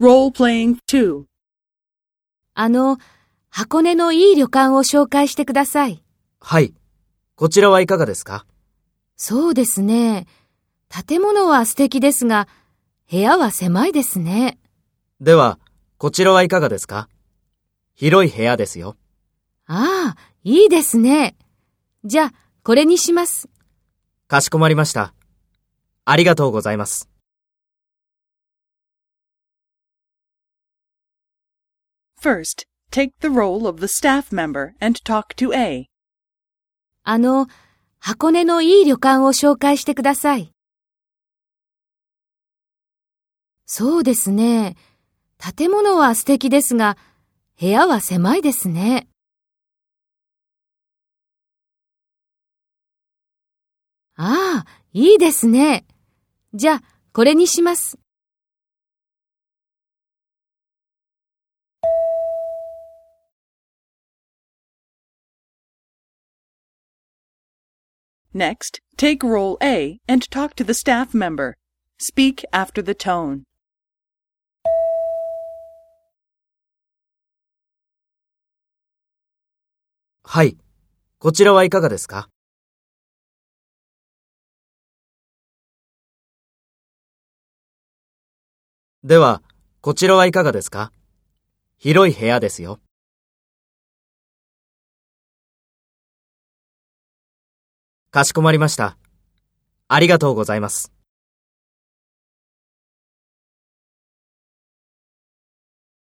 Role-playing 2. 箱根のいい旅館を紹介してください。 はい。こちらはいかがですか？ そうですね。建物は素敵ですが、部屋は狭いですね。 では、こちらはいかがですか？広い部屋ですよ。 ああ、いいですね。じゃあ、これにします。 かしこまりました。ありがとうございます。 First, take the role of the staff member and talk to A. 箱根のいい旅館を紹介してください。そうですね。建物は素敵ですが、部屋は狭いですね。ああ、いいですね。じゃあ、これにします。 Next, take role A and talk to the staff member. Speak after the tone. はい。こちらはいかがですか？では、こちらはいかがですか？広い部屋ですよ。かしこまりました。ありがとうございます。